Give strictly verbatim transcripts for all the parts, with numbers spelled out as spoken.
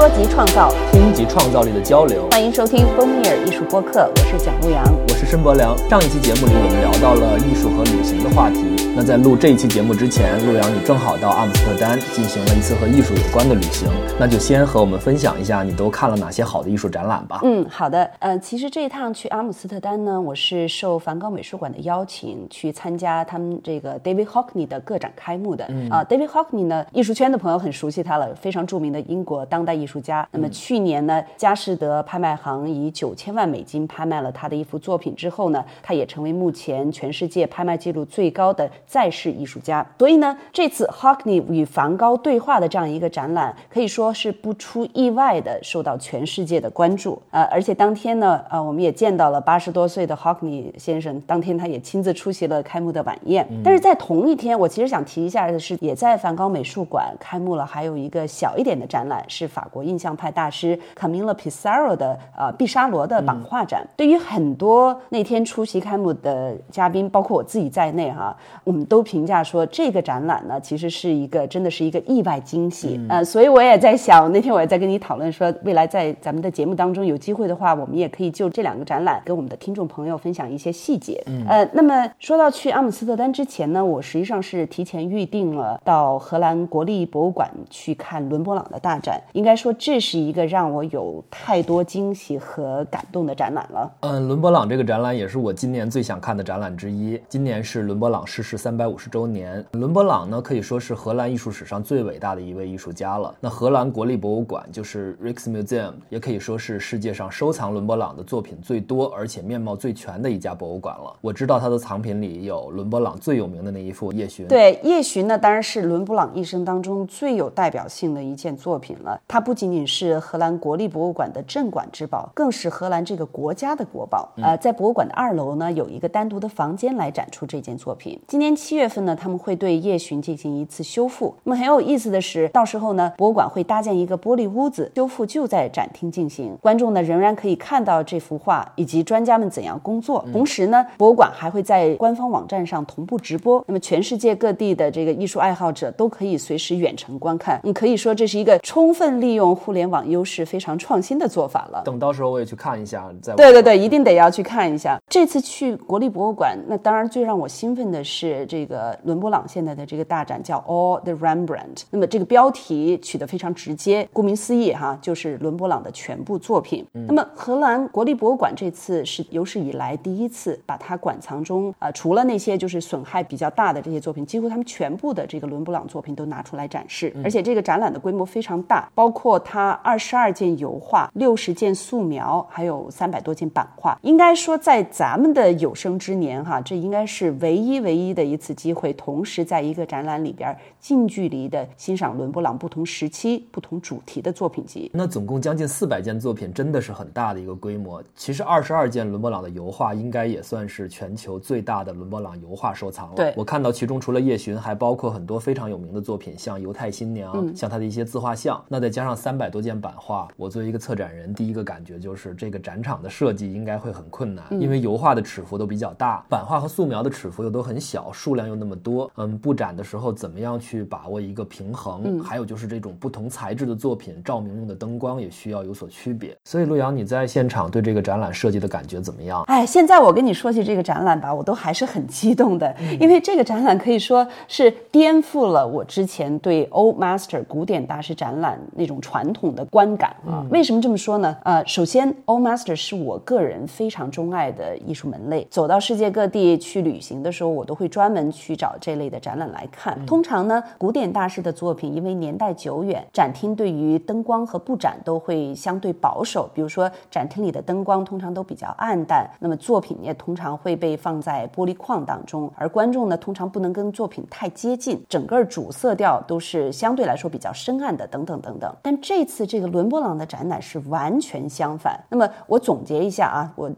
说及创造， 听及创造力的交流。 欢迎收听风米尔艺术播客，我是蒋陆阳， 我是申博良。上一期节目里我们聊到了艺术和旅行的话题，那在录这一期节目之前，陆阳你正好到阿姆斯特丹进行了一次和艺术有关的旅行，那就先和我们分享一下你都看了哪些好的艺术展览吧。 嗯，好的。呃，其实这一趟去阿姆斯特丹呢，我是受梵高美术馆的邀请去参加他们这个 David Hockney 的个展开幕的。嗯、啊 David Hockney 呢，艺术圈的朋友很熟悉他了，非常著名的英国当代艺术家。那么去年呢，佳士得拍卖行以九千万美金拍卖了他的一幅作品之后呢，他也成为目前全世界拍卖记录最高的在世艺术家。所以呢，这次 Hockney 与梵高对话的这样一个展览，可以说是不出意外的受到全世界的关注。呃，而且当天呢，呃，我们也见到了八十多岁的 Hockney 先生，当天他也亲自出席了开幕的晚宴。嗯、但是在同一天，我其实想提一下的是，也在梵高美术馆开幕了还有一个小一点的展览，是法国印象派大师 Camilo Pissarro 的呃毕沙罗的版画展。嗯、对于很多那天出席开幕的嘉宾，包括我自己在内哈，我们都评价说这个展览呢，其实是一个真的是一个意外惊喜。嗯、呃，所以我也在想，那天我也在跟你讨论说，未来在咱们的节目当中有机会的话，我们也可以就这两个展览跟我们的听众朋友分享一些细节。嗯、呃，那么说到去阿姆斯特丹之前呢，我实际上是提前预定了到荷兰国立博物馆去看伦勃朗的大展。应该说这是一个让我有太多惊喜和感动的展览了。 嗯，伦勃朗这个展览也是我今年最想看的展览之一。今年是伦勃朗逝世三百五十周年。伦勃朗呢，可以说是荷兰艺术史上最伟大的一位艺术家了。那荷兰国立博物馆就是 Rijksmuseum， 也可以说是世界上收藏伦勃朗的作品最多而且面貌最全的一家博物馆了。我知道他的藏品里有伦勃朗最有名的那一幅夜巡。 对，夜巡呢，当然是伦勃朗一生当中最有代表性的一件作品了。它不仅仅是荷兰国立博物馆的镇馆之宝，更是荷兰这个国家的国宝。呃，在博物馆的二楼呢，有一个单独的房间来展出这件作品。今年七月份呢，他们会对夜巡进行一次修复。那么很有意思的是，到时候呢，博物馆会搭建一个玻璃屋子，修复就在展厅进行。观众呢仍然可以看到这幅画以及专家们怎样工作。同时呢，博物馆还会在官方网站上同步直播。那么全世界各地的这个艺术爱好者都可以随时远程观看。你可以说这是一个充分利用互联网优势非常创新的做法了。 等到时候我也去看一下。在对对对，一定得要去看一下。这次去国立博物馆，那当然最让我兴奋的是这个伦勃朗现在的这个大展叫 All the Rembrandt。那么这个标题取得非常直接，顾名思义哈，就是伦勃朗的全部作品。嗯、那么荷兰国立博物馆这次是有史以来第一次把它馆藏中呃除了那些就是损害比较大的这些作品，几乎他们全部的这个伦勃朗作品都拿出来展示。嗯、而且这个展览的规模非常大，包括它二十二件油画、六十件素描，还有三百多件版画。应该说在咱们的有生之年哈，这应该是唯一唯一的一次机会，同时在一个展览里边近距离的欣赏伦勃朗不同时期、不同主题的作品集。 那总共将近四百件作品，真的是很大的一个规模。其实二十二件伦勃朗的油画应该也算是全球最大的伦勃朗油画收藏了。 对， 我看到其中除了夜巡，还包括很多非常有名的作品，像犹太新娘、嗯、像他的一些自画像。那再加上三百多件版画，我作为一个策展人，第一个感觉就是这个展场的设计应该会很困难。嗯、因为油画的尺幅都比较大，版画和素描的尺幅又都很小，数量又那么多。嗯，布展的时候怎么样去把握一个平衡？嗯、还有就是这种不同材质的作品，照明用的灯光也需要有所区别。所以陆阳，你在现场对这个展览设计的感觉怎么样？ 哎，现在我跟你说起这个展览吧，我都还是很激动的。嗯、因为这个展览可以说是颠覆了我之前对 Old Master 古典大师展览那种传统的观感啊。嗯、为什么这么说呢？呃，首先 Old Master 是我个人非常钟爱的艺术门类，走到世界各地去旅行的时候，我都会专门去找这类的展览来看。嗯、通常呢，古典大师的作品因为年代久远，展厅对于灯光和布展都会相对保守，比如说展厅里的灯光通常都比较暗淡，那么作品也通常会被放在玻璃框当中，而观众呢通常不能跟作品太接近，整个主色调都是相对来说比较深暗的等等等等。但这次这个伦勃朗的展览是完全相反。那么我总结一下啊，我印象最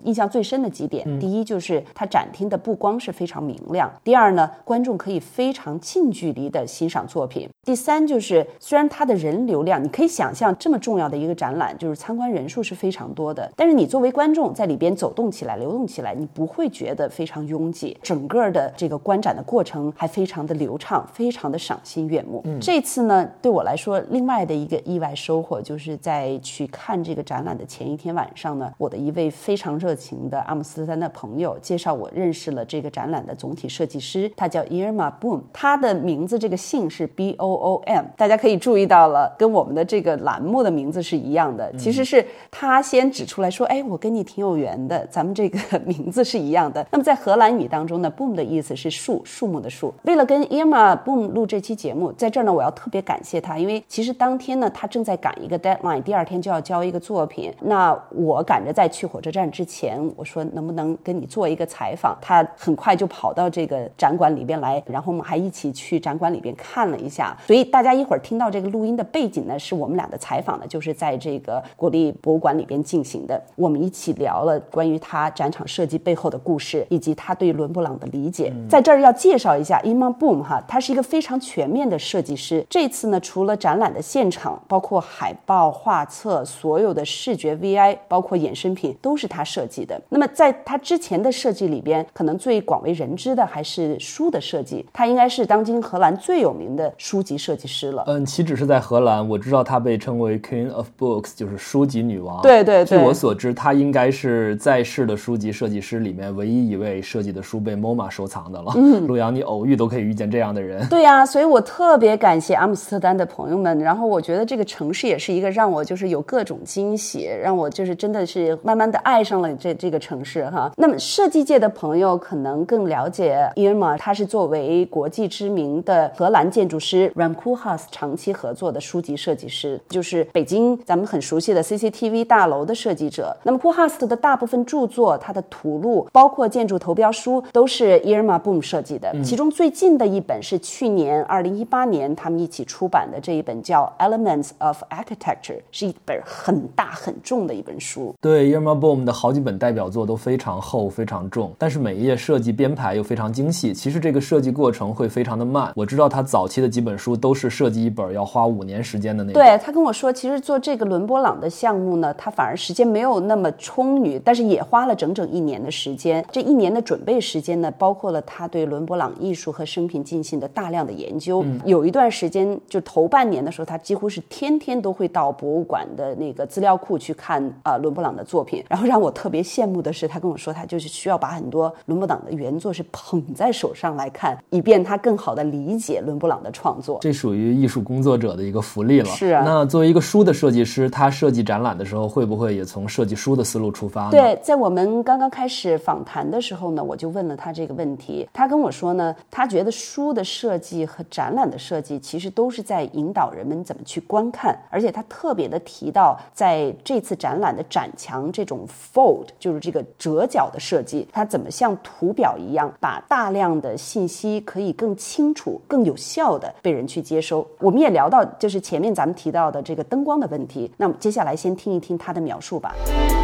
深的几点、嗯、第一就是它展厅的布光是非常明亮，第二呢，观众可以非常近距离的欣赏作品，第三就是虽然它的人流量，你可以想象这么重要的一个展览，就是参观人数是非常多的，但是你作为观众在里边走动起来流动起来，你不会觉得非常拥挤，整个的这个观展的过程还非常的流畅，非常的赏心悦目、嗯、这次呢对我来说另外的一个意外收获就是在去看这个展览的前一天晚上呢，我的一位非常热情的阿姆斯特丹的朋友介绍我认识了这个展览的总体设计师，他叫 Irma Boom， 他的名字这个姓是 B O O M， 大家可以注意到了跟我们的这个栏目的名字是一样的，其实是他先指出来说，哎，我跟你挺有缘的，咱们这个名字是一样的。那么在荷兰语当中呢 Boom 的意思是树，树木的树。为了跟 Irma Boom 录这期节目，在这儿呢我要特别感谢他，因为其实当天呢他正在赶一个 deadline， 第二天就要交一个作品，那我赶着在去火车站之前，我说能不能跟你做一个采访，他很快就跑到这个展馆里边来，然后我们还一起去展馆里边看了一下，所以大家一会儿听到这个录音的背景呢，是我们俩的采访呢就是在这个国立博物馆里边进行的，我们一起聊了关于他展场设计背后的故事，以及他对伦勃朗的理解、嗯、在这儿要介绍一下 Irma Boom 哈，他是一个非常全面的设计师，这次呢除了展览的现场，包括海报、画册，所有的视觉 V I 包括衍生品都是他设计的。那么在他之前的设计里边，可能最广为人知的还是书的设计，他应该是当今荷兰最有名的书籍设计师了。 嗯，岂止是在荷兰，我知道他被称为 Queen of Books， 就是书籍女王。 对对对， 据我所知，他应该是在世的书籍设计师里面唯一一位设计的书被 M O M A 收藏的了。嗯，陆阳，你偶遇都可以遇见这样的人。 对呀、啊，所以我特别感谢阿姆斯特丹的朋友们，然后我觉得这个城市也是一个让我就是有各种惊喜，让我就是真的是慢慢的爱上了这这个城市哈。那么设计界的朋友可能更了解 Irma， 他是作为国际知名的荷兰建筑师 Rem Koolhaas 长期合作的书籍设计师，就是北京咱们很熟悉的 C C T V 大楼的设计者。那么 Koolhaas 的大部分著作，他的图录包括建筑投标书都是 Irma Boom 设计的、嗯、其中最近的一本是去年二零一八年他们一起出版的这一本叫 Elements of Architecture， 是一本很大很重的一本书。 对， Irma Boom 的好几本代表作都非常厚非常重，但是每一页设计编排又非常精细，其实这个设计过程会非常的慢。我知道他早期的几本书都是设计一本要花五年时间的那种。 对，他跟我说其实做这个伦勃朗的项目呢，他反而时间没有那么充裕，但是也花了整整一年的时间。这一年的准备时间呢，包括了他对伦勃朗艺术和生平进行的大量的研究、嗯、有一段时间就头半年的时候，他几乎是天天都会到博物馆的那个资料库去看呃伦勃朗的作品。然后让我特别羡慕的是，他跟我说他就是需要把很多伦勃朗的原作是捧在手上来看，以便他更好的理解伦勃朗的创作。 这属于艺术工作者的一个福利了。 是啊， 那作为一个书的设计师，他设计展览的时候会不会也从设计书的思路出发呢？ 对，在我们刚刚开始访谈的时候呢，我就问了他这个问题。他跟我说呢，他觉得书的设计和展览的设计其实都是在引导人们怎么去观看，而且他特别的提到在这次展览的展墙这种 fold， 就是这个折角的设计，它怎么像图表一样把大量的信息可以更清楚更有效的被人去接收。我们也聊到就是前面咱们提到的这个灯光的问题，那么接下来先听一听他的描述吧。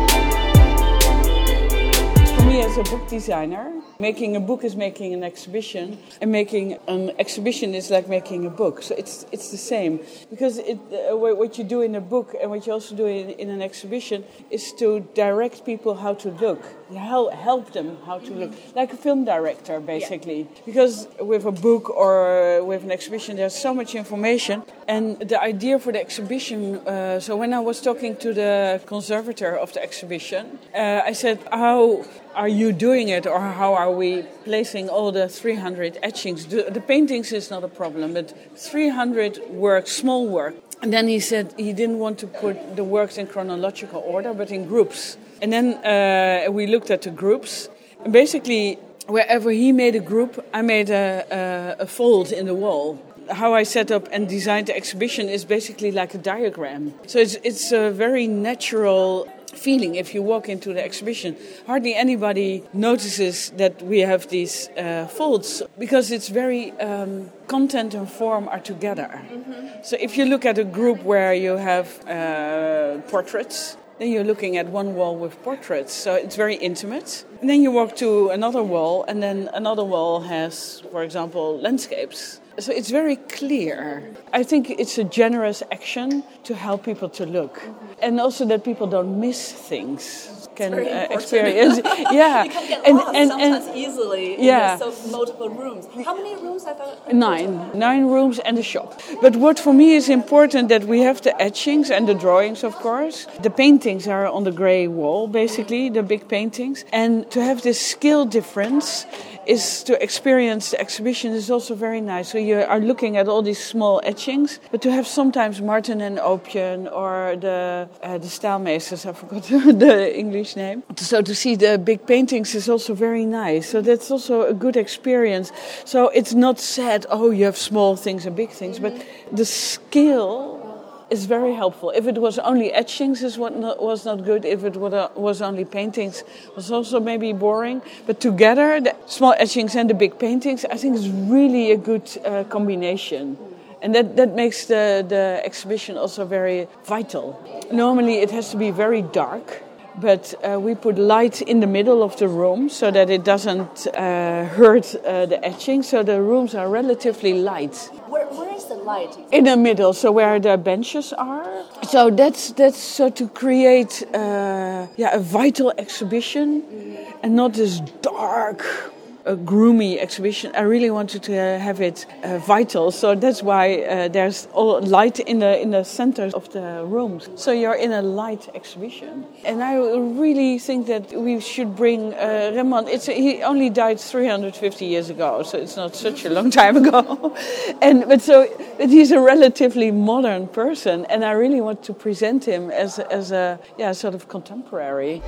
For me as a book designer, making a book is making an exhibition, and making an exhibition is like making a book. So it's it's the same, because it, uh, what you do in a book and what you also do in, in an exhibition is to direct people how to look, help, help them how to look, like a film director basically. Yeah. Because with a book or with an exhibition there's so much information, and the idea for the exhibition, uh, so when I was talking to the conservator of the exhibition, uh, I said, how are you doing it, or how are we placing all the three hundred etchings? The, the paintings is not a problem, but three hundred works, small work. And then he said he didn't want to put the works in chronological order, but in groups. And then uh, we looked at the groups, and basically wherever he made a group, I made a, a, a fold in the wall. How I set up and designed the exhibition is basically like a diagram. So it's it's a very natural feeling if you walk into the exhibition. Hardly anybody notices that we have these uh, folds, because it's very um, content and form are together. Mm-hmm. So if you look at a group where you have uh, portraits, then you're looking at one wall with portraits, so it's very intimate. And then you walk to another wall, and then another wall has, for example, landscapes. So it's very clear. I think it's a generous action to help people to look. Mm-hmm. And also that people don't miss things. Can uh, experience, yeah, you can get and, lost and, sometimes and, easily. Yeah, in so multiple rooms. How many rooms have I? Nine, nine rooms and a shop. But what for me is important that we have the etchings and the drawings, of course. The paintings are on the grey wall, basically, the big paintings, and to have this scale difference is to experience the exhibition is also very nice. So you are looking at all these small etchings, but to have sometimes Martin and Opien or the uh, the Staalmeesters, I forgot the English name. So to see the big paintings is also very nice. So that's also a good experience. So it's not said, oh, you have small things and big things, but the scale is very helpful. If it was only etchings, is what not, was not good. If it was only paintings, was also maybe boring. But together, the small etchings and the big paintings, I think is really a good uh, combination. And that, that makes the, the exhibition also very vital. Normally it has to be very dark, but uh, we put light in the middle of the room so that it doesn't uh, hurt uh, the etching. So the rooms are relatively light. Where, where is the light? In the middle, so where the benches are. So that's that's so to create uh, yeah a vital exhibition, mm-hmm. and not this dark, uh, gloomy exhibition. I really wanted to uh, have it uh, vital, so that's why uh, there's all light in the in the center of the rooms. So you're in a light exhibition, and I really think that we should bring uh, Rembrandt. It's he only died three hundred fifty years ago, so it's not such a long time ago. and but so but he's a relatively modern person, and I really want to present him as as a yeah sort of contemporary.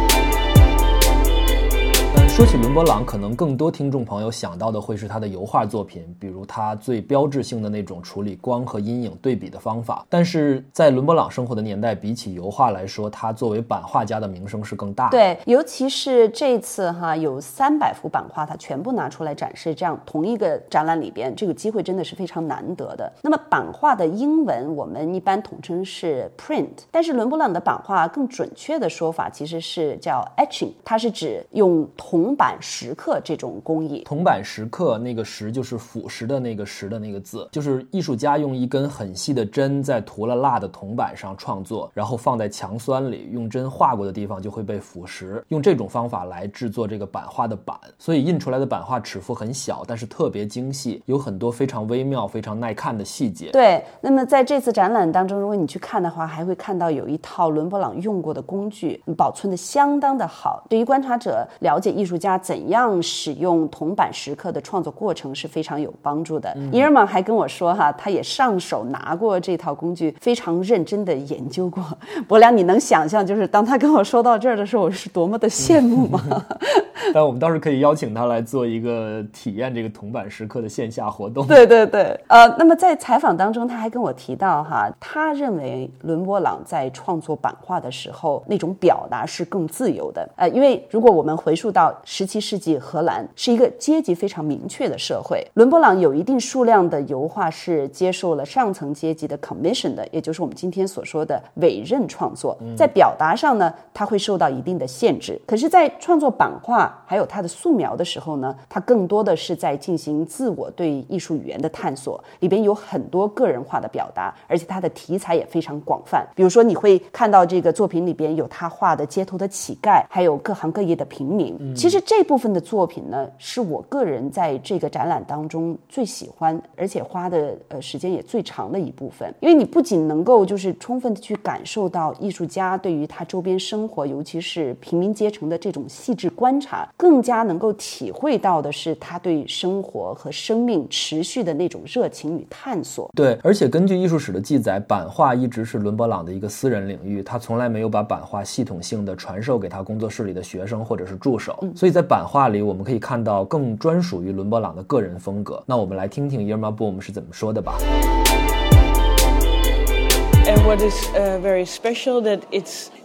说起伦勃朗，可能更多听众朋友想到的会是他的油画作品，比如他最标志性的那种处理光和阴影对比的方法。但是在伦勃朗生活的年代，比起油画来说，他作为版画家的名声是更大的。 对，尤其是这次哈，有三百幅版画，他全部拿出来展示，这样同一个展览里边，这个机会真的是非常难得的。那么版画的英文我们一般统称是 print， 但是伦勃朗的版画更准确的说法其实是叫 etching， 它是指用铜版石刻这种工艺。 铜版石刻那个石就是腐蚀的那个石的那个字，就是艺术家用一根很细的针在涂了蜡的铜板上创作，然后放在强酸里，用针划过的地方就会被腐蚀，用这种方法来制作这个版画的版，所以印出来的版画尺幅很小，但是特别精细，有很多非常微妙非常耐看的细节。 对，那么在这次展览当中，如果你去看的话，还会看到有一套伦勃朗用过的工具，保存的相当的好，对于观察者了解艺术家怎样使用铜版石刻的创作过程是非常有帮助的。伊尔玛还跟我说哈，他也上手拿过这套工具，非常认真的研究过。伯良，你能想象就是当他跟我说到这儿的时候，我是多么的羡慕吗？ 但我们倒是可以邀请他来做一个体验这个铜版石刻的线下活动。 对对对，呃，那么在采访当中，他还跟我提到哈，他认为伦勃朗在创作版画的时候，那种表达是更自由的。呃，因为如果我们回溯到十七世纪荷兰是一个阶级非常明确的社会，伦勃朗有一定数量的油画是接受了上层阶级的 commission 的，也就是我们今天所说的委任创作。在表达上呢，他会受到一定的限制。可是，在创作版画还有他的素描的时候呢，他更多的是在进行自我对艺术语言的探索，里边有很多个人化的表达，而且他的题材也非常广泛。比如说你会看到这个作品里边有他画的街头的乞丐，还有各行各业的平民。嗯、其实这部分的作品呢，是我个人在这个展览当中最喜欢，而且花的呃时间也最长的一部分。因为你不仅能够就是充分的去感受到艺术家对于他周边生活，尤其是平民阶层的这种细致观察，更加能够体会到的是他对生活和生命持续的那种热情与探索。 对，而且根据艺术史的记载，版画一直是伦勃朗的一个私人领域，他从来没有把版画系统性的传授给他工作室里的学生或者是助手、嗯、所以在版画里我们可以看到更专属于伦勃朗的个人风格。那我们来听听 Irma Boom 是怎么说的吧。 And what is uh, very special that it's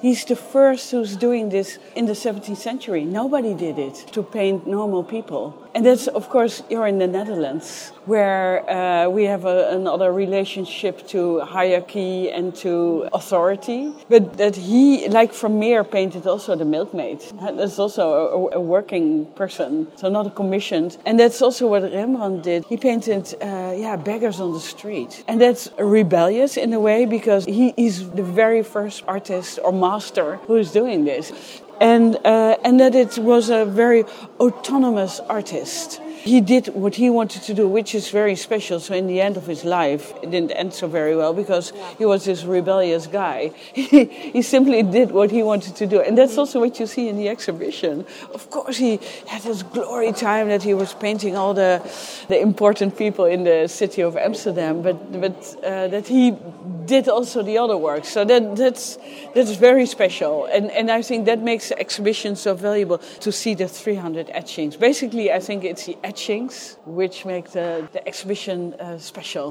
He's the first who's doing this in the seventeenth century. Nobody did it, to paint normal people. And that's, of course, you're in the Netherlands, where uh, we have a, another relationship to hierarchy and to authority. But that he, like Vermeer, painted also the milkmaid. That's also a, a working person, so not a commissioned. And that's also what Rembrandt did. He painted, uh, yeah, beggars on the street. And that's rebellious in a way, because he is the very first artist or master who is doing this. And uh, and that it was a very autonomous artist. He did what he wanted to do, which is very special. So in the end of his life, it didn't end so very well because he was this rebellious guy. He, he simply did what he wanted to do. And that's also what you see in the exhibition. Of course, he had this glory time that he was painting all the the important people in the city of Amsterdam, but but uh, that he did also the other work. So that that's that's very special. And, and I think that makes the exhibition so valuable, to see the three hundred etchings. Basically, I think it's the etchings which make the, the exhibition uh, special.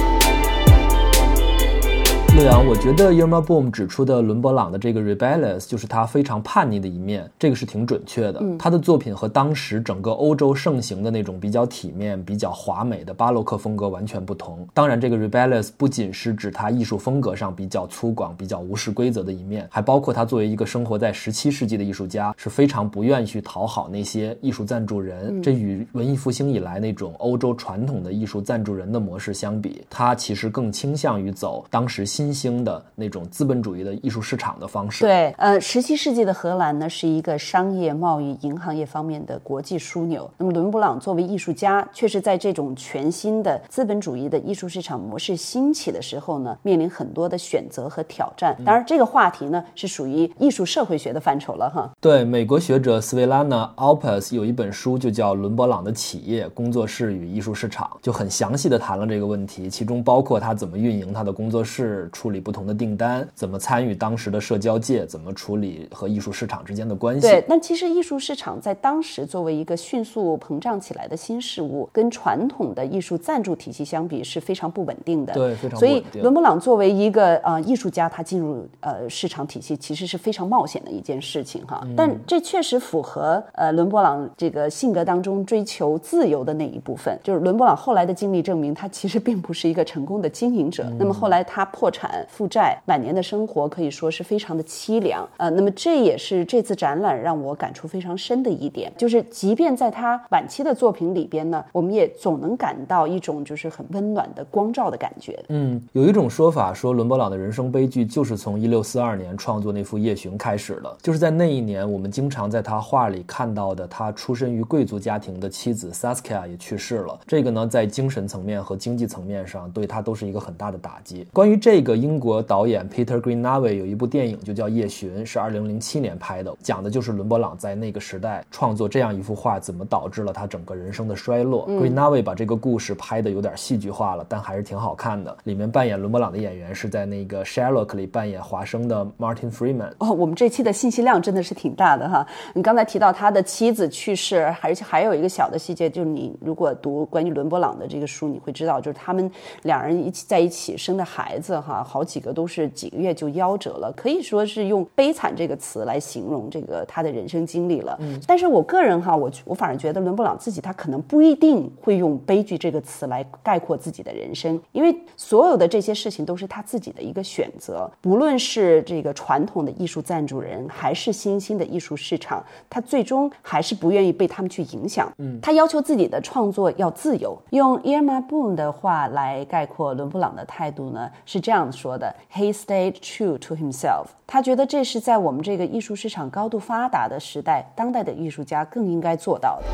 乐阳，我觉得 Irma Boom 指出的伦勃朗的这个 rebellious 就是他非常叛逆的一面，这个是挺准确的。嗯、他的作品和当时整个欧洲盛行的那种比较体面、比较华美的巴洛克风格完全不同。当然，这个 rebellious 不仅是指他艺术风格上比较粗犷、比较无视规则的一面，还包括他作为一个生活在十七世纪的艺术家，是非常不愿意去讨好那些艺术赞助人。嗯、这与文艺复兴以来那种欧洲传统的艺术赞助人的模式相比，他其实更倾向于走当时新新兴的那种资本主义的艺术市场的方式。 对，呃，十七世纪的荷兰呢是一个商业、贸易、银行业方面的国际枢纽。那么伦勃朗作为艺术家，却是在这种全新的资本主义的艺术市场模式兴起的时候呢，面临很多的选择和挑战。当然，这个话题呢是属于艺术社会学的范畴了哈。 对，美国学者 Svetlana Alpers 有一本书就叫《伦勃朗的企业、工作室与艺术市场》，就很详细的谈了这个问题，其中包括他怎么运营他的工作室，处理不同的订单，怎么参与当时的社交界，怎么处理和艺术市场之间的关系。 对，但其实艺术市场在当时作为一个迅速膨胀起来的新事物，跟传统的艺术赞助体系相比是非常不稳定的。 对，非常不稳定。 所以伦勃朗作为一个呃艺术家，他进入呃市场体系其实是非常冒险的一件事情哈。嗯、但这确实符合呃伦勃朗这个性格当中追求自由的那一部分。就是伦勃朗后来的经历证明，他其实并不是一个成功的经营者。嗯、那么后来他破产负债，晚年的生活可以说是非常的凄凉。呃，那么这也是这次展览让我感触非常深的一点，就是即便在他晚期的作品里边呢，我们也总能感到一种就是很温暖的光照的感觉。 嗯，有一种说法说伦勃朗的人生悲剧就是从一六四二年创作那幅《夜巡》开始的，就是在那一年，我们经常在他画里看到的他出身于贵族家庭的妻子 Saskia 也去世了。这个呢，在精神层面和经济层面上对他都是一个很大的打击。关于这个，英国导演 Peter Greenaway 有一部电影就叫《夜巡》，是二零零七年拍的，讲的就是伦勃朗在那个时代创作这样一幅画怎么导致了他整个人生的衰落。嗯、Greenaway 把这个故事拍的有点戏剧化了，但还是挺好看的。里面扮演伦勃朗的演员是在那个 Sherlock 里扮演华生的 Martin Freeman。 哦，我们这期的信息量真的是挺大的哈。你刚才提到他的妻子去世，而且还有一个小的细节，就是你如果读关于伦勃朗的这个书，你会知道，就是他们两人一起在一起生的孩子哈，好几个都是几个月就夭折了，可以说是用悲惨这个词来形容这个他的人生经历了。嗯、但是我个人哈，我我反而觉得伦勃朗自己他可能不一定会用悲剧这个词来概括自己的人生，因为所有的这些事情都是他自己的一个选择，不论是这个传统的艺术赞助人，还是新兴的艺术市场，他最终还是不愿意被他们去影响。嗯，他要求自己的创作要自由。用 Irma Boom 的话来概括伦勃朗的态度呢，是这样说的 ：He stayed true to himself。他觉得这是在我们这个艺术市场高度发达的时代，当代的艺术家更应该做到的。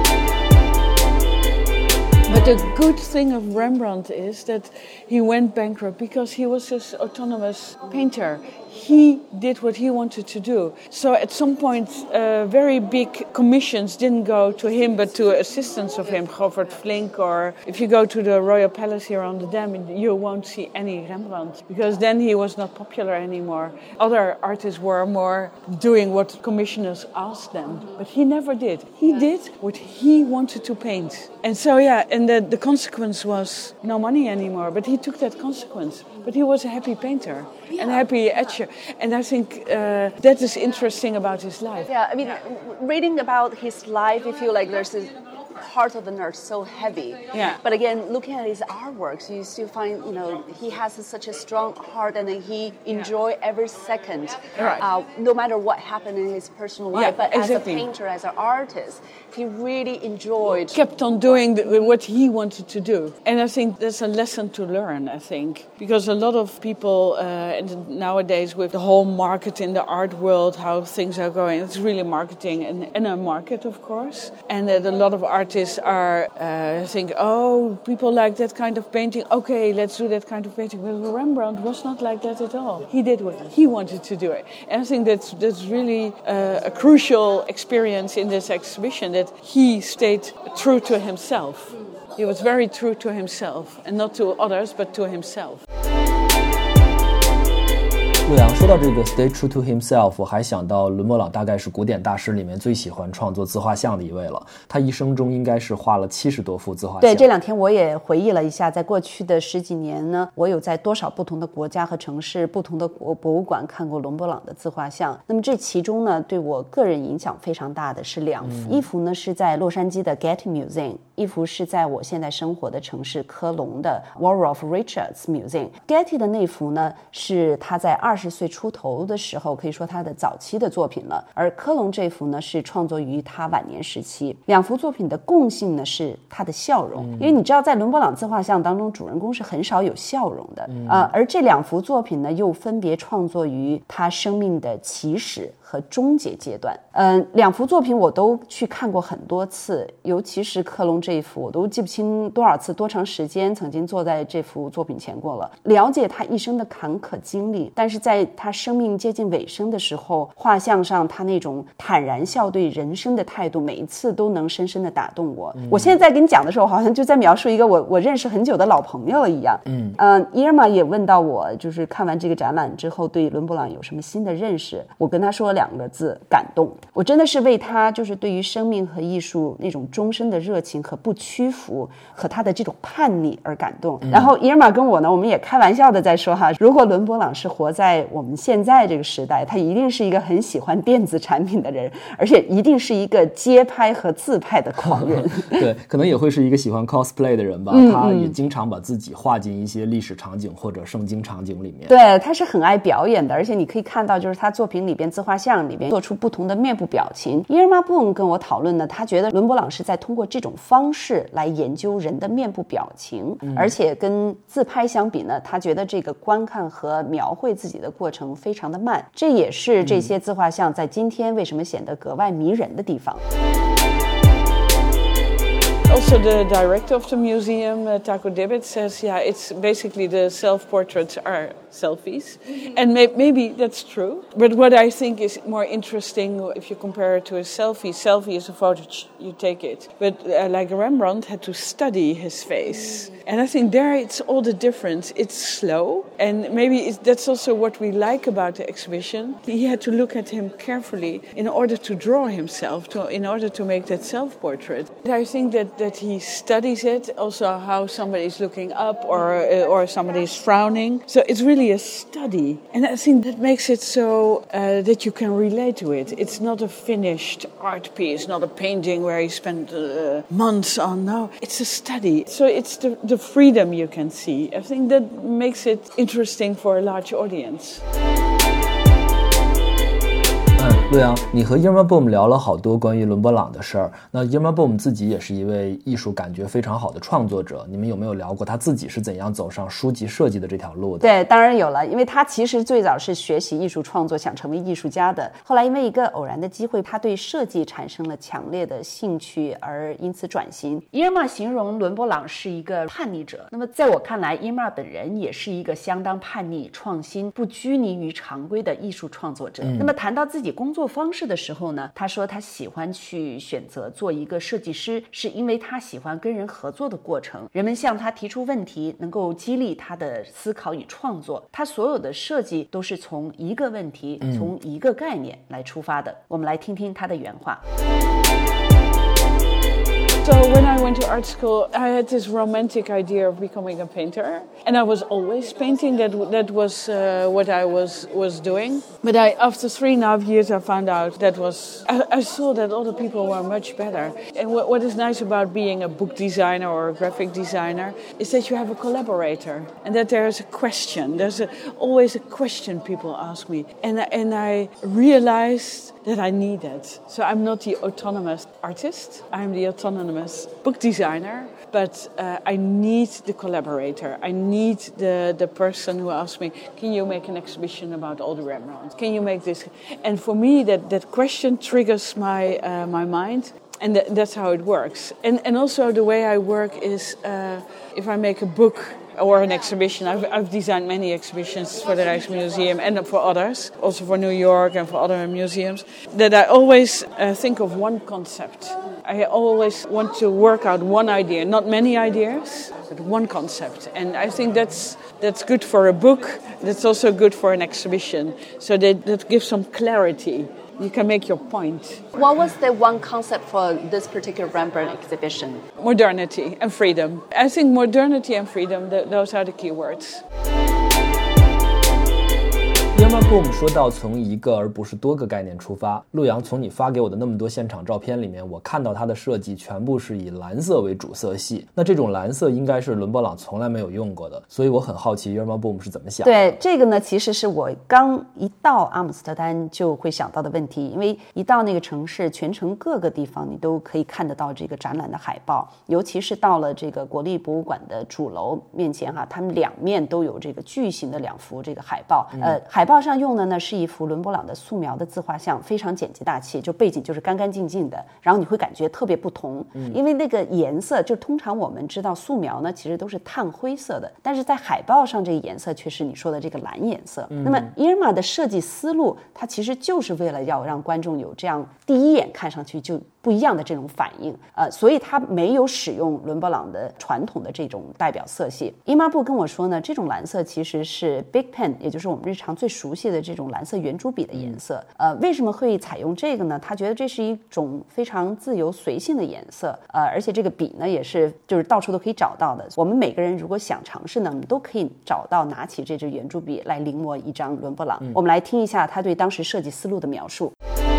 But the good thing of Rembrandt is that he went bankrupt because he was this autonomous painter. He did what he wanted to do. So at some point, uh, very big commissions didn't go to him, but to assistants of him, Govert Flinck, or if you go to the Royal Palace here on the Dam, you won't see any Rembrandt, because then he was not popular anymore. Other artists were more doing what commissioners asked them, but he never did. He did what he wanted to paint. And so, yeah, and that the consequence was no money anymore. But he took that consequence. But he was a happy painter yeah. and a happy etcher. And I think uh, that is interesting about his life. Yeah, I mean, yeah. reading about his life, you feel like there's this heart of the nerd so heavy. Yeah. But again, looking at his artworks, you still find, you know, he has such a strong heart and he enjoy yeah. every second, right. uh, no matter what happened in his personal life. Yeah, but exactly. as a painter, as an artist, he really enjoyed... Kept on doing the, what he wanted to do. And I think that's a lesson to learn, I think. Because a lot of people, uh, and nowadays with the whole market in the art world, how things are going, it's really marketing and, and a market, of course. And that a lot of artists are uh, think, oh, people like that kind of painting. Okay, let's do that kind of painting. But Rembrandt was not like that at all. He did what he wanted to do it. And I think that's, that's really uh, a crucial experience in this exhibition, that he stayed true to himself. He was very true to himself, and not to others, but to himself. 陆阳说到这个 stay true to himself， 我还想到伦勃朗大概是古典大师里面最喜欢创作自画像的一位了。他一生中应该是画了七十多幅自画像。 对，这两天我也回忆了一下，在过去的十几年呢，我有在多少不同的国家和城市、不同的国博物馆看过伦勃朗的自画像。那么这其中呢，对我个人影响非常大的是两幅，嗯、一幅呢是在洛杉矶的 Getty Museum， 一幅是在我现在生活的城市科隆的 Waldorf Richards Museum。Getty 的那幅呢是他在二十岁出头的时候，可以说他的早期的作品了，而科隆这幅呢是创作于他晚年时期。两幅作品的共性呢是他的笑容，嗯、因为你知道在伦勃朗自画像当中，主人公是很少有笑容的，嗯、呃，而这两幅作品呢又分别创作于他生命的起始和终结阶段。嗯、呃，两幅作品我都去看过很多次，尤其是科隆这一幅，我都记不清多少次、多长时间曾经坐在这幅作品前过了。了解他一生的坎坷经历，但是在他生命接近尾声的时候，画像上他那种坦然笑对人生的态度，每一次都能深深的打动我。嗯、我现在在跟你讲的时候，好像就在描述一个我我认识很久的老朋友了一样。嗯嗯，伊尔玛也问到我，就是看完这个展览之后，对伦勃朗有什么新的认识？我跟他说两个字：感动。我真的是为他就是对于生命和艺术那种终身的热情和不屈服，和他的这种叛逆而感动。嗯、然后伊尔玛跟我呢，我们也开玩笑的在说哈，如果伦勃朗是活在我们现在这个时代，他一定是一个很喜欢电子产品的人，而且一定是一个街拍和自拍的狂人。 对，可能也会是一个喜欢 cosplay 的人吧。嗯、他也经常把自己画进一些历史场景或者圣经场景里面。 对，他是很爱表演的，而且你可以看到，就是他作品里边自画像里边做出不同的面部表情。伊尔玛布恩跟我讨论呢，他觉得伦勃朗是在通过这种方式来研究人的面部表情，嗯、而且跟自拍相比呢，他觉得这个观看和描绘自己的过程非常的慢，这也是这些自画像在今天为什么显得格外迷人的地方。 Also, the director of the museum, uh, Taco Dibbit, says, yeah, it's basically the self-portraits are selfies. And may- maybe that's true. But what I think is more interesting, if you compare it to a selfie, selfie is a photo, you take it. But uh, like Rembrandt had to study his face. And I think there it's all the difference. It's slow. And maybe it's, that's also what we like about the exhibition. He had to look at him carefully in order to draw himself, to, in order to make that self-portrait. I think that, that he studies it, also how somebody is looking up or, uh, or somebody is frowning. So it's really a study. And I think that makes it so uh, that you can relate to it. It's not a finished art piece, not a painting where he spent uh, months on. No, it's a study. So it's the, the freedom you can see. I think that makes it interesting for a large audience. 嗯，陆阳，你和 Irma Boom 聊了好多关于伦勃朗的事儿。那 Irma Boom 自己也是一位艺术感觉非常好的创作者，你们有没有聊过他自己是怎样走上书籍设计的这条路的？ 对，当然有了，因为他其实最早是学习艺术创作，想成为艺术家的。后来因为一个偶然的机会，他对设计产生了强烈的兴趣，而因此转型。Irma 形容伦勃朗是一个叛逆者，那么在我看来 Irma 本人也是一个相当叛逆、创新、不拘泥于常规的艺术创作者。嗯、那么谈到自己工作方式的时候呢，他说他喜欢去选择做一个设计师，是因为他喜欢跟人合作的过程，人们向他提出问题，能够激励他的思考与创作。他所有的设计都是从一个问题、嗯、从一个概念来出发的。我们来听听他的原话。 So when I went to art school, I had this romantic idea of becoming a painter, and I was always painting. That that was uh, what I was was doing. But I, after three and a half years, I found out that was I, I saw that other people were much better. And what, what is nice about being a book designer or a graphic designer is that you have a collaborator, and that there is a question. There's a, always a question people ask me, and and I realized that I need it. So I'm not the autonomous artist, I'm the autonomous book designer, but uh, I need the collaborator. I need the, the person who asks me, can you make an exhibition about all the Rembrandts? Can you make this? And for me, that, that question triggers my uh, my mind. And th- that's how it works. And and also the way I work is uh, if I make a book or an exhibition. I've, I've designed many exhibitions for the Rijksmuseum and for others, also for New York and for other museums, that I always uh, think of one concept. I always want to work out one idea, not many ideas, but one concept. And I think that's that's good for a book, that's also good for an exhibition, so that, that gives some clarity. You can make your point. What was the one concept for this particular Rembrandt exhibition? Modernity and freedom. I think modernity and freedom, th- those are the key words. Irma Boom 说到从一个而不是多个概念出发，陆阳，从你发给我的那么多现场照片里面，我看到它的设计全部是以蓝色为主色系，那这种蓝色应该是伦勃朗从来没有用过的，所以我很好奇 Irma Boom 是怎么想的。 对，这个呢其实是我刚一到阿姆斯特丹就会想到的问题，因为一到那个城市，全城各个地方你都可以看得到这个展览的海报，尤其是到了这个国立博物馆的主楼面前哈，他们两面都有这个巨型的两幅这个海报，嗯、呃，海报上用的呢是一幅伦勃朗的素描的自画像，非常简洁大气，就背景就是干干净净的，然后你会感觉特别不同，嗯、因为那个颜色就通常我们知道素描呢其实都是炭灰色的，但是在海报上这个颜色却是你说的这个蓝颜色。嗯、那么 Irma 的设计思路，它其实就是为了要让观众有这样第一眼看上去就不一样的这种反应，呃，所以它没有使用伦勃朗的传统的这种代表色系。Irma Boom跟我说呢，这种蓝色其实是 Big Pen， 也就是我们日常最熟悉的这种蓝色圆珠笔的颜色。呃，为什么会采用这个呢？他觉得这是一种非常自由随性的颜色，呃，而且这个笔呢也是就是到处都可以找到的。我们每个人如果想尝试呢，我们都可以找到拿起这支圆珠笔来临摹一张伦勃朗。嗯、我们来听一下他对当时设计思路的描述。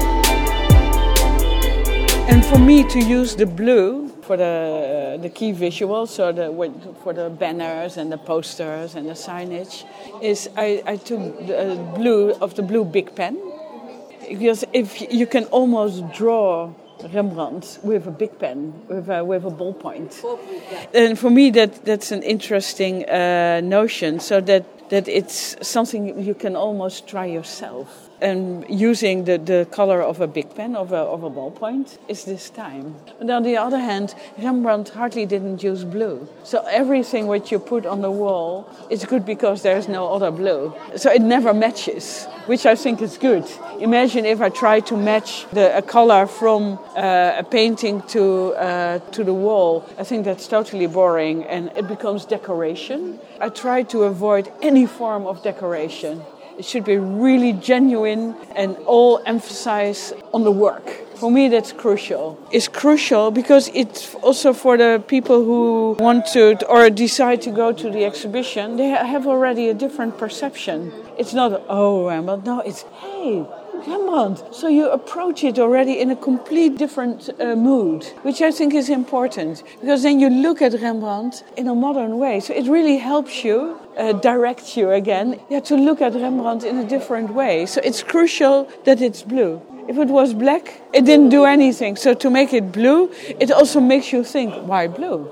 And for me to use the blue for the uh, the key visuals, so the for the banners and the posters and the signage, is I, I took the uh, blue of the blue Big Pen, because if you can almost draw Rembrandt with a big pen, with a, with a ballpoint. And for me that that's an interesting uh, notion, so that, that it's something you can almost try yourself. And using the, the color of a big pen, of a, of a ballpoint, is this time. But on the other hand, Rembrandt hardly didn't use blue. So everything which you put on the wall is good because there's no other blue. So it never matches, which I think is good. Imagine if I try to match the, a color from uh, a painting to, uh, to the wall. I think that's totally boring and it becomes decoration. I try to avoid any form of decoration. It should be really genuine and all emphasize on the work. For me, that's crucial. It's crucial because it's also for the people who want to or decide to go to the exhibition, they have already a different perception. It's not, oh, Rembrandt. No, it's, hey, Rembrandt. So you approach it already in a complete different uh, mood, which I think is important, because then you look at Rembrandt in a modern way. So it really helps you, uh, direct you again, yeah, to look at Rembrandt in a different way. So it's crucial that it's blue. If it was black, it didn't do anything. So to make it blue, it also makes you think, why blue?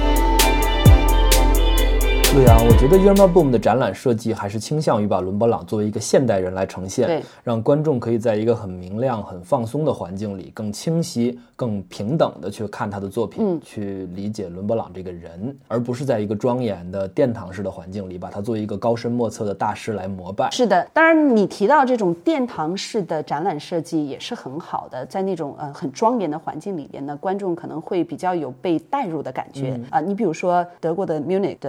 陆阳，我觉得 Irma Boom 的展览设计还是倾向于把伦勃朗作为一个现代人来呈现，让观众可以在一个很明亮很放松的环境里更清晰更平等的去看他的作品、嗯、去理解伦勃朗这个人，而不是在一个庄严的殿堂式的环境里把他作为一个高深莫测的大师来膜拜。 是的，当然你提到这种殿堂式的展览设计也是很好的，在那种呃很庄严的环境里边呢，观众可能会比较有被带入的感觉啊、嗯呃。你比如说德国的 Munich 的 Ultra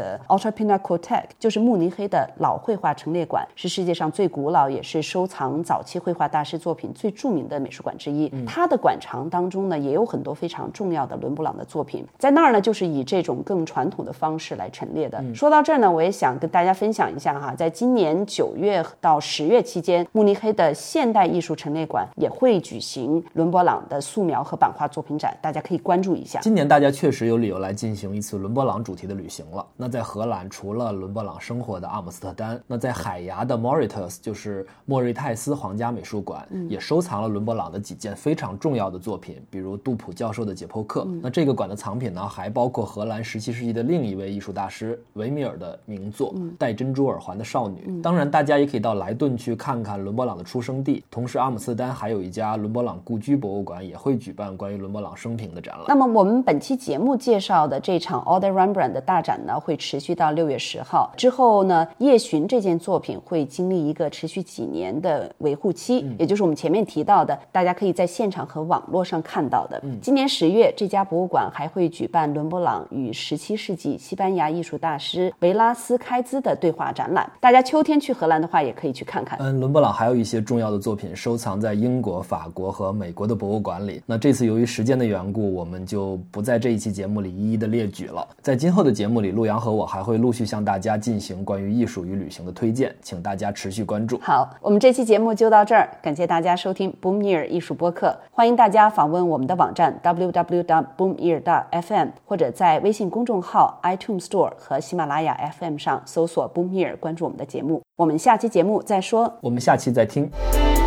Pinakothek， 就是慕尼黑的老绘画陈列馆，是世界上最古老也是收藏早期绘画大师作品最著名的美术馆之一。嗯、它的馆藏当中呢，也有很多非常重要的伦勃朗的作品，在那儿呢，就是以这种更传统的方式来陈列的。嗯、说到这儿呢，我也想跟大家分享一下哈，在今年九月到十月期间，慕尼黑的现代艺术陈列馆也会举行伦勃朗的素描和版画作品展，大家可以关注一下。 今年大家确实有理由来进行一次伦勃朗主题的旅行了。那在荷兰，除了伦勃朗生活的阿姆斯特丹，那在海牙的 Mauritshuis 就是莫瑞泰斯皇家美术馆、嗯、也收藏了伦勃朗的几件非常重要的作品，比如杜普教授的解剖课、嗯、那这个馆的藏品呢，还包括荷兰十七世纪的另一位艺术大师维米尔的名作、嗯、戴珍珠耳环的少女、嗯、当然大家也可以到莱顿去看看伦勃朗的出生地，同时阿姆斯特丹还有一家伦勃朗故居博物馆也会举办关于伦勃朗生平的展览。 那么我们本期节目介绍的这场 Alder Rembrandt 的大展呢，会持续到六月十号之后呢，夜巡这件作品会经历一个持续几年的维护期、嗯、也就是我们前面提到的大家可以在现场和网络上看到的、嗯、今年十月这家博物馆还会举办伦勃朗与十七世纪西班牙艺术大师维拉斯开兹的对话展览，大家秋天去荷兰的话也可以去看看。 嗯，伦勃朗还有一些重要的作品收藏在英国、法国和美国的博物馆里，那这次由于时间的缘故，我们就不在这一期节目里一一的列举了。在今后的节目里，陆阳和我还会陆续向大家进行关于艺术与旅行的推荐，请大家持续关注。 好，我们这期节目就到这儿，感谢大家收听 Boom Ear 艺术播客，欢迎大家访问我们的网站 double-u double-u double-u dot boom ear dot f m， 或者在微信公众号 iTunes Store 和喜马拉雅 F M 上搜索 Boom Ear， 关注我们的节目。我们下期节目再说， 我们下期再听。